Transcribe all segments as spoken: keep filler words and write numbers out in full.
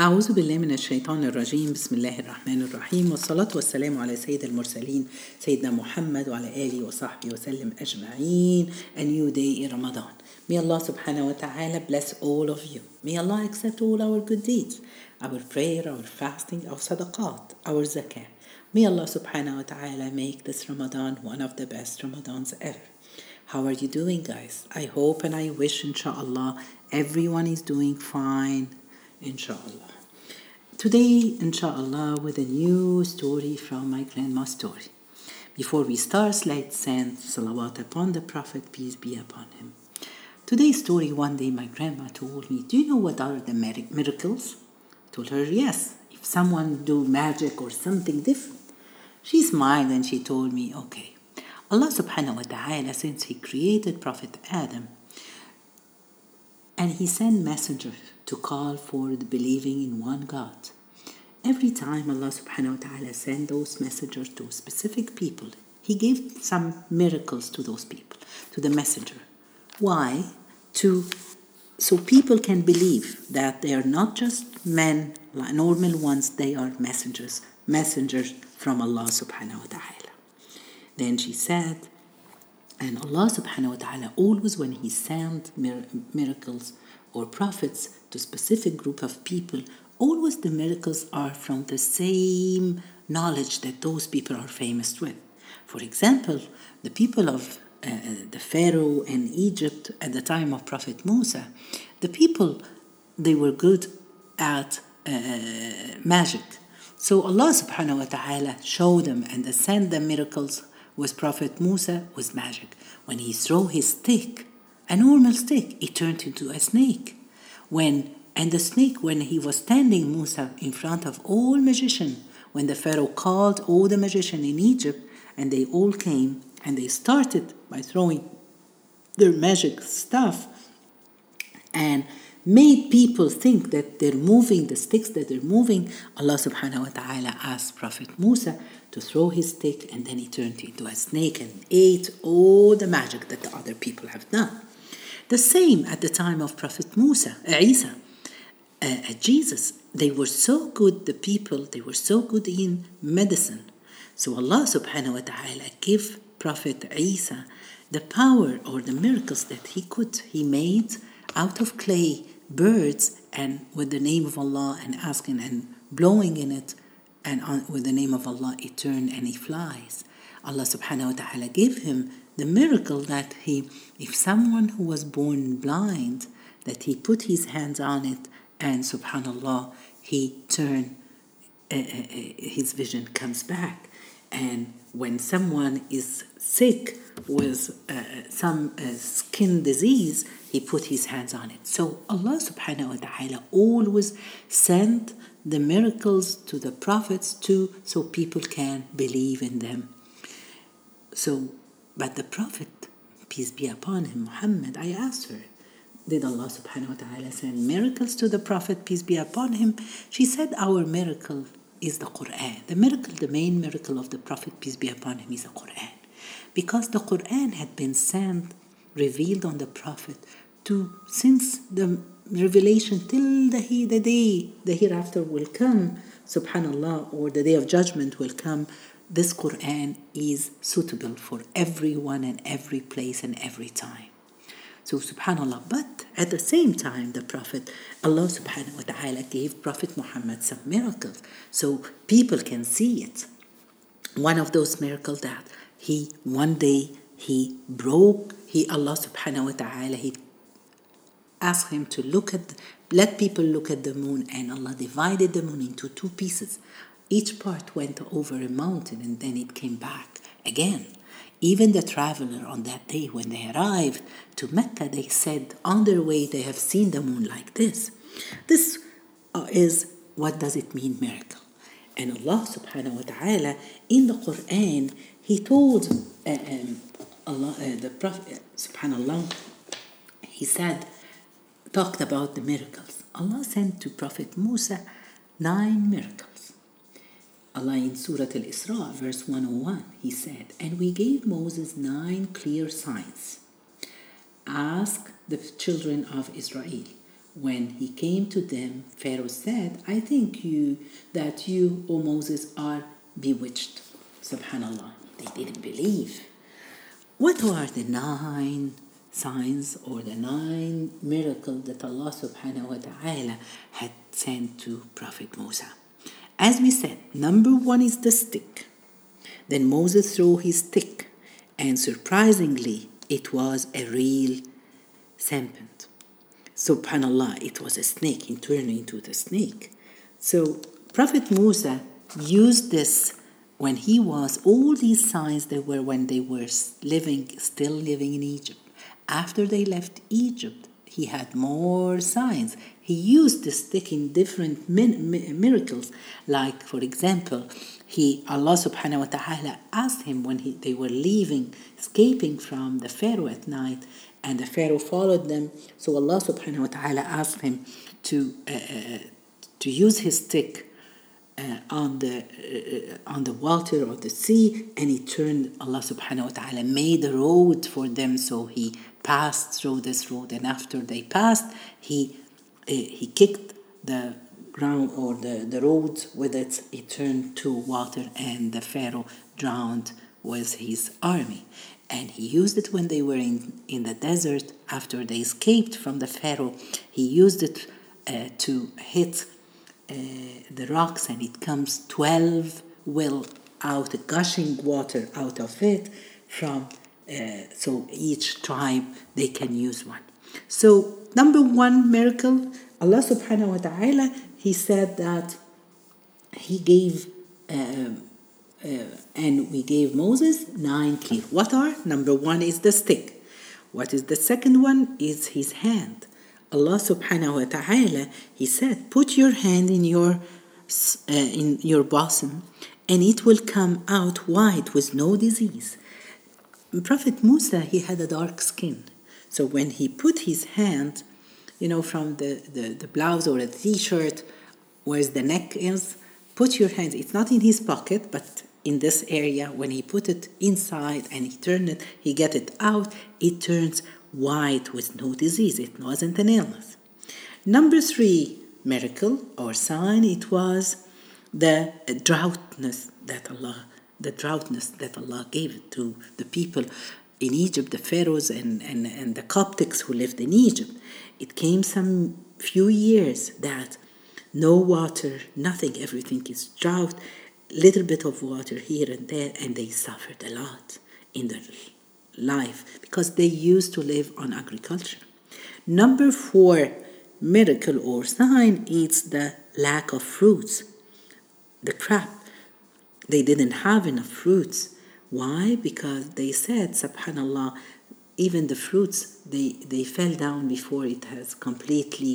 أعوذ بالله من الشيطان الرجيم. بسم الله الرحمن الرحيم، والصلاة والسلام على سيد المرسلين سيدنا محمد وعلى آله وصحبه وسلم أجمعين. A new day in Ramadan. May Allah subhanahu wa ta'ala bless all of you. May Allah accept all our good deeds, our prayer, our fasting, our sadaqat, our zakah. May Allah subhanahu wa ta'ala make this Ramadan one of the best Ramadans ever. How are you doing, guys? I hope and I wish, inshallah, everyone is doing fine, inshallah. Today, inshallah, with a new story from my grandma's story. Before we start, let's send salawat upon the Prophet, peace be upon him. Today's story, one day my grandma told me, do you know what are the miracles? I told her, yes, if someone do magic or something different. She smiled and she told me, okay, Allah subhanahu wa ta'ala, since he created Prophet Adam, and he sent messengers to call for the believing in one God. Every time Allah subhanahu wa ta'ala sent those messengers to specific people, he gave some miracles to those people, to the messenger. Why? To so people can believe that they are not just men, like normal ones, they are messengers, messengers from Allah subhanahu wa ta'ala. Then she said, and Allah subhanahu wa ta'ala always when he sent mir- miracles or prophets to specific group of people, always the miracles are from the same knowledge that those people are famous with. For example, the people of uh, the Pharaoh and Egypt at the time of Prophet Musa, the people, they were good at uh, magic. So Allah subhanahu wa ta'ala showed them and sent them miracles with Prophet Musa with magic. When he threw his stick, a normal stick, it turned into a snake. When and the snake, when he was standing Musa in front of all magicians, when the Pharaoh called all the magicians in Egypt, and they all came and they started by throwing their magic stuff and made people think that they're moving, the sticks that they're moving, Allah subhanahu wa ta'ala asked Prophet Musa to throw his stick, and then he turned into a snake and ate all the magic that the other people have done. The same at the time of Prophet Musa, uh, Isa, uh, uh, Jesus. They were so good, the people, they were so good in medicine. So Allah subhanahu wa ta'ala gave Prophet Isa the power or the miracles that he could. He made out of clay birds, and with the name of Allah and asking and blowing in it, and on, with the name of Allah it turned and he flies. Allah subhanahu wa ta'ala gave him the miracle that he, if someone who was born blind, that he put his hands on it and subhanallah, he turned, uh, uh, his vision comes back. And when someone is sick with uh, some uh, skin disease, he put his hands on it. So Allah subhanahu wa ta'ala always sent the miracles to the prophets too, so people can believe in them. So, but the Prophet, peace be upon him, Muhammad, I asked her, did Allah subhanahu wa ta'ala send miracles to the Prophet, peace be upon him? She said, our miracle is the Quran. The miracle, the main miracle of the Prophet, peace be upon him, is the Quran. Because the Quran had been sent, revealed on the Prophet, to since the revelation till the, the day the hereafter will come, subhanallah, or the day of judgment will come. This Quran is suitable for everyone and every place and every time. So subhanallah, but at the same time the Prophet, Allah subhanahu wa ta'ala gave Prophet Muhammad some miracles so people can see it. One of those miracles that he one day he broke, he Allah subhanahu wa ta'ala, he asked him to look at, let people look at the moon, and Allah divided the moon into two pieces. Each part went over a mountain and then it came back again. Even the traveler on that day when they arrived to Mecca, they said on their way they have seen the moon like this. This uh, is, what does it mean, miracle? And Allah subhanahu wa ta'ala in the Quran, he told uh, um, Allah, uh, the Prophet, uh, subhanallah, he said, talked about the miracles. Allah sent to Prophet Musa nine miracles. Allah in Surah Al-Isra, verse one oh one, he said, and we gave Moses nine clear signs. Ask the children of Israel, when he came to them, Pharaoh said, I think you that you, O Moses, are bewitched. Subhanallah, they didn't believe. What are the nine signs or the nine miracles that Allah subhanahu wa ta'ala had sent to Prophet Musa? As we said, number one is the stick. Then Moses threw his stick, and surprisingly, it was a real serpent. Subhanallah, it was a snake. It turned into the snake. So Prophet Musa used this when he was, all these signs that were when they were living, still living in Egypt. After they left Egypt, he had more signs. He used the stick in different min- mi- miracles. Like, for example, he Allah subhanahu wa ta'ala asked him when he, they were leaving, escaping from the Pharaoh at night, and the Pharaoh followed them. So Allah subhanahu wa ta'ala asked him to uh, uh, to use his stick uh, on the uh, on the water or the sea, and he turned. Allah subhanahu wa ta'ala made a road for them, so he passed through this road. And after they passed, he uh, he kicked the ground or the, the road with it. It turned to water, and the Pharaoh drowned with his army. And he used it when they were in, in the desert after they escaped from the Pharaoh. He used it uh, to hit uh, the rocks, and it comes twelve well out, gushing water out of it from uh, so each tribe they can use one. So number one miracle, Allah subhanahu wa ta'ala, he said that he gave uh, Uh, and we gave Moses nine keys. What are? Number one is the stick. What is the second one? Is his hand. Allah subhanahu wa ta'ala, he said, put your hand in your uh, in your bosom, and it will come out white with no disease. Prophet Musa, he had a dark skin. So when he put his hand, you know, from the, the, the blouse or the t-shirt, where the neck is, put your hand, it's not in his pocket, but in this area, when he put it inside and he turned it, he get it out, it turns white with no disease. It wasn't an illness. Number three miracle or sign, it was the droughtness that Allah, the droughtness that Allah gave to the people in Egypt, the pharaohs and, and, and the Coptics who lived in Egypt. It came some few years that no water, nothing, everything is drought, little bit of water here and there, and they suffered a lot in their life because they used to live on agriculture. Number four miracle or sign is the lack of fruits. The crop, they didn't have enough fruits. Why? Because they said, subhanallah, even the fruits, they, they fell down before it has completely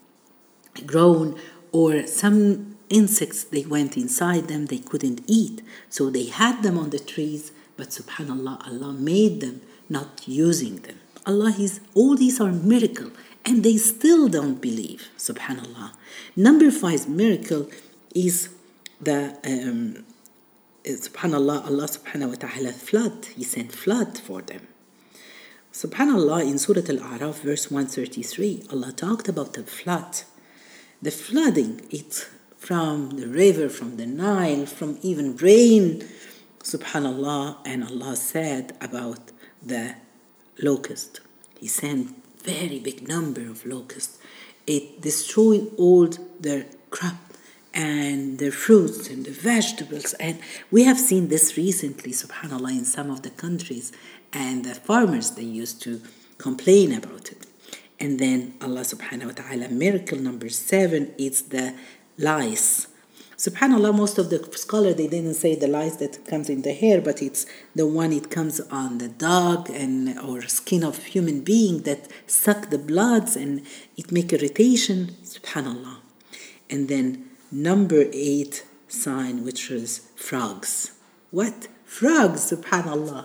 grown, or some insects, they went inside them, they couldn't eat. So they had them on the trees, but subhanallah, Allah made them not using them. Allah is, all these are miracle, and they still don't believe, subhanallah. Number five miracle is the, um, subhanallah, Allah subhanahu wa ta'ala flood. He sent flood for them. Subhanallah, in Surah Al-A'raf, verse one thirty-three, Allah talked about the flood. The flooding, it's from the river, from the Nile, from even rain, subhanallah. And Allah said about the locust. He sent very big number of locusts. It destroyed all their crop and their fruits and the vegetables. And we have seen this recently, subhanallah, in some of the countries. And the farmers, they used to complain about it. And then Allah subhanahu wa ta'ala, miracle number seven, is the lice. Subhanallah, most of the scholars, they didn't say the lice that comes in the hair, but it's the one it comes on the dog and or skin of human being that suck the bloods and it make irritation. Subhanallah. And then number eight sign, which is frogs. What? Frogs, subhanallah.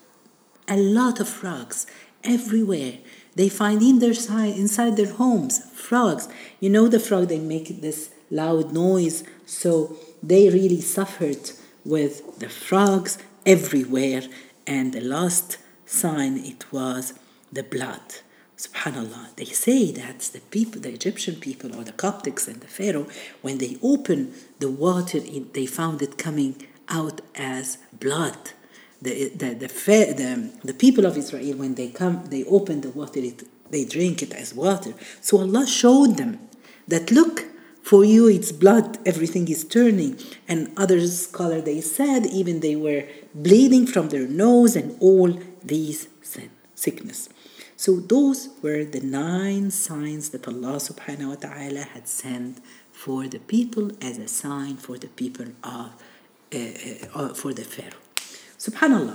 A lot of frogs everywhere. They find in their side, inside their homes, frogs. You know the frog, they make this loud noise. So they really suffered with the frogs everywhere. And the last sign, it was the blood. Subhanallah, they say that the people, the Egyptian people or the Coptics and the Pharaoh, when they opened the water, they found it coming out as blood. The the the, the, the people of Israel, when they come, they open the water, it, they drink it as water. So Allah showed them that, look, for you it's blood, everything is turning. And other scholars, they said even they were bleeding from their nose and all these sin, sickness. So those were the nine signs that Allah subhanahu wa ta'ala had sent for the people as a sign for the people of, uh, uh, for the Pharaoh. Subhanallah.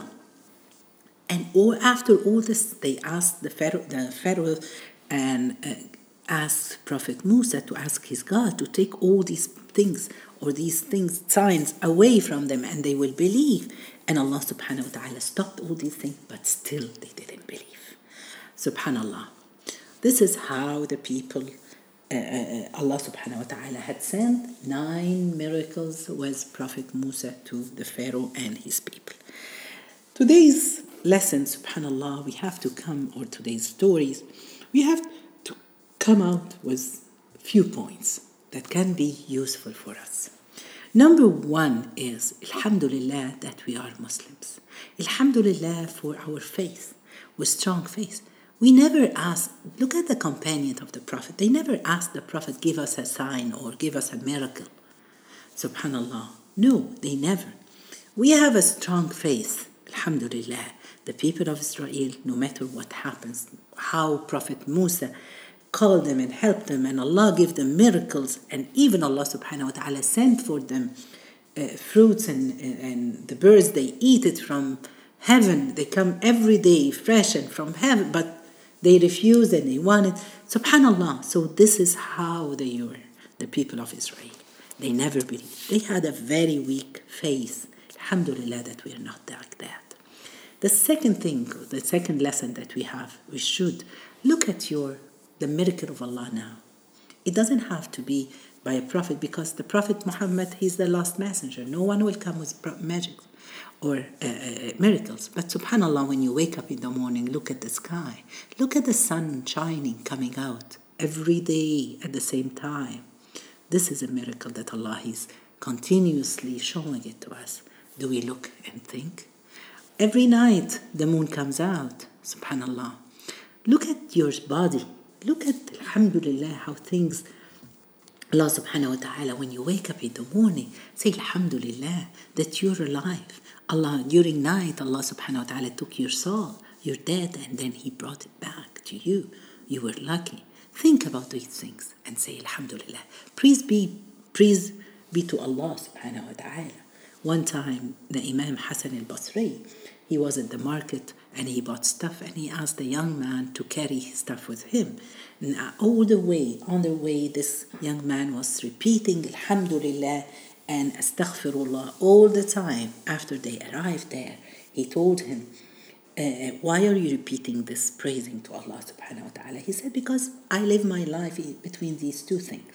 And all, after all this, they asked the Pharaoh, the Pharaoh and uh, asked Prophet Musa to ask his God to take all these things or these things, signs away from them, and they will believe. And Allah subhanahu wa ta'ala stopped all these things, but still they didn't believe. Subhanallah. This is how the people, uh, uh, Allah subhanahu wa ta'ala had sent nine miracles with Prophet Musa to the Pharaoh and his people. Today's lesson, subhanallah, we have to come, or today's stories, we have to come out with few points that can be useful for us. Number one is, alhamdulillah, that we are Muslims. Alhamdulillah for our faith, with strong faith. We never ask, look at the companion of the Prophet. They never asked the Prophet, give us a sign or give us a miracle. Subhanallah. No, they never. We have a strong faith. Alhamdulillah. The people of Israel, no matter what happens, how Prophet Musa called them and helped them, and Allah gave them miracles, and even Allah subhanahu wa ta'ala sent for them uh, fruits and, and the birds, they eat it from heaven. They come every day fresh and from heaven, but they refused and they wanted. Subhanallah. So this is how they were, the people of Israel. They never believed. They had a very weak faith. Alhamdulillah that we are not like that. The second thing, the second lesson that we have, we should look at your the miracle of Allah now. It doesn't have to be by a prophet, because the Prophet Muhammad, he's the last messenger. No one will come with magic or uh, uh, miracles. But subhanallah, when you wake up in the morning, look at the sky. Look at the sun shining, coming out every day at the same time. This is a miracle that Allah is continuously showing it to us. Do we look and think? Every night the moon comes out, subhanallah. Look at your body. Look at, alhamdulillah, how things, Allah subhanahu wa ta'ala, when you wake up in the morning, say alhamdulillah that you're alive. Allah, during night, Allah subhanahu wa ta'ala took your soul. You're dead, and then He brought it back to you. You were lucky. Think about these things and say alhamdulillah. Praise be, praise be to Allah subhanahu wa ta'ala. One time, the Imam Hassan al-Basri, he was at the market and he bought stuff, and he asked the young man to carry his stuff with him. And all the way, on the way, this young man was repeating alhamdulillah and astaghfirullah all the time. After they arrived there, he told him, uh, why are you repeating this praising to Allah subhanahu wa ta'ala? He said, because I live my life between these two things.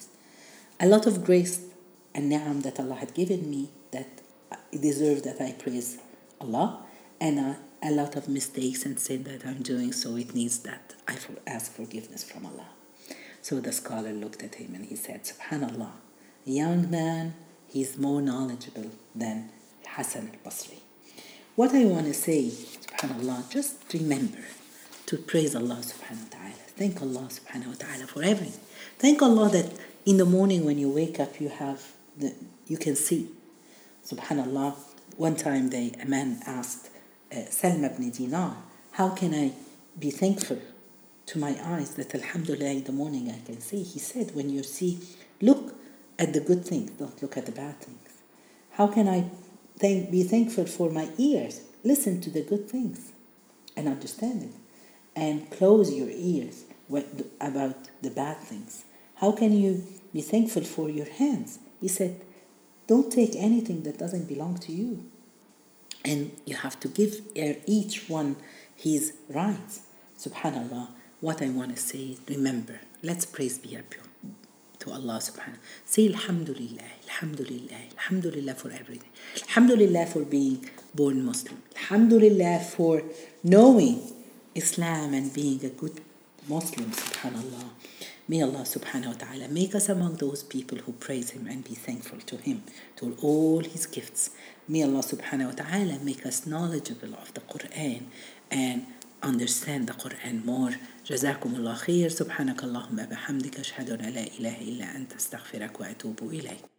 A lot of grace and ni'am that Allah had given me that deserve that I praise Allah, and uh, a lot of mistakes and sin that I'm doing, so it needs that I ask forgiveness from Allah. So the scholar looked at him and he said, subhanallah, young man, he's more knowledgeable than Hassan al-Basri. What I want to say, subhanallah, just remember to praise Allah subhanahu wa ta'ala. Thank Allah subhanahu wa ta'ala for everything. Thank Allah that in the morning when you wake up, you have the, you can see. Subhanallah, one time they, a man asked uh, Salma ibn Dinar, how can I be thankful to my eyes that alhamdulillah in the morning I can see? He said, when you see, look at the good things, don't look at the bad things. How can I thank, be thankful for my ears? Listen to the good things and understand it. And close your ears about the bad things. How can you be thankful for your hands? He said, don't take anything that doesn't belong to you. And you have to give each one his rights. Subhanallah, what I want to say, remember, let's praise be to Allah subhanahu. Say alhamdulillah, alhamdulillah, alhamdulillah for everything. Alhamdulillah for being born Muslim. Alhamdulillah for knowing Islam and being a good Muslims, subhanallah. May Allah subhanahu wa ta'ala make us among those people who praise Him and be thankful to Him, to all His gifts. May Allah subhanahu wa ta'ala make us knowledgeable of the Quran and understand the Quran more. جزاكم الله خير. سبحانك اللهم بحمدك أشهد أن لا إله إلا أنت أستغفرك وأتوب إليك.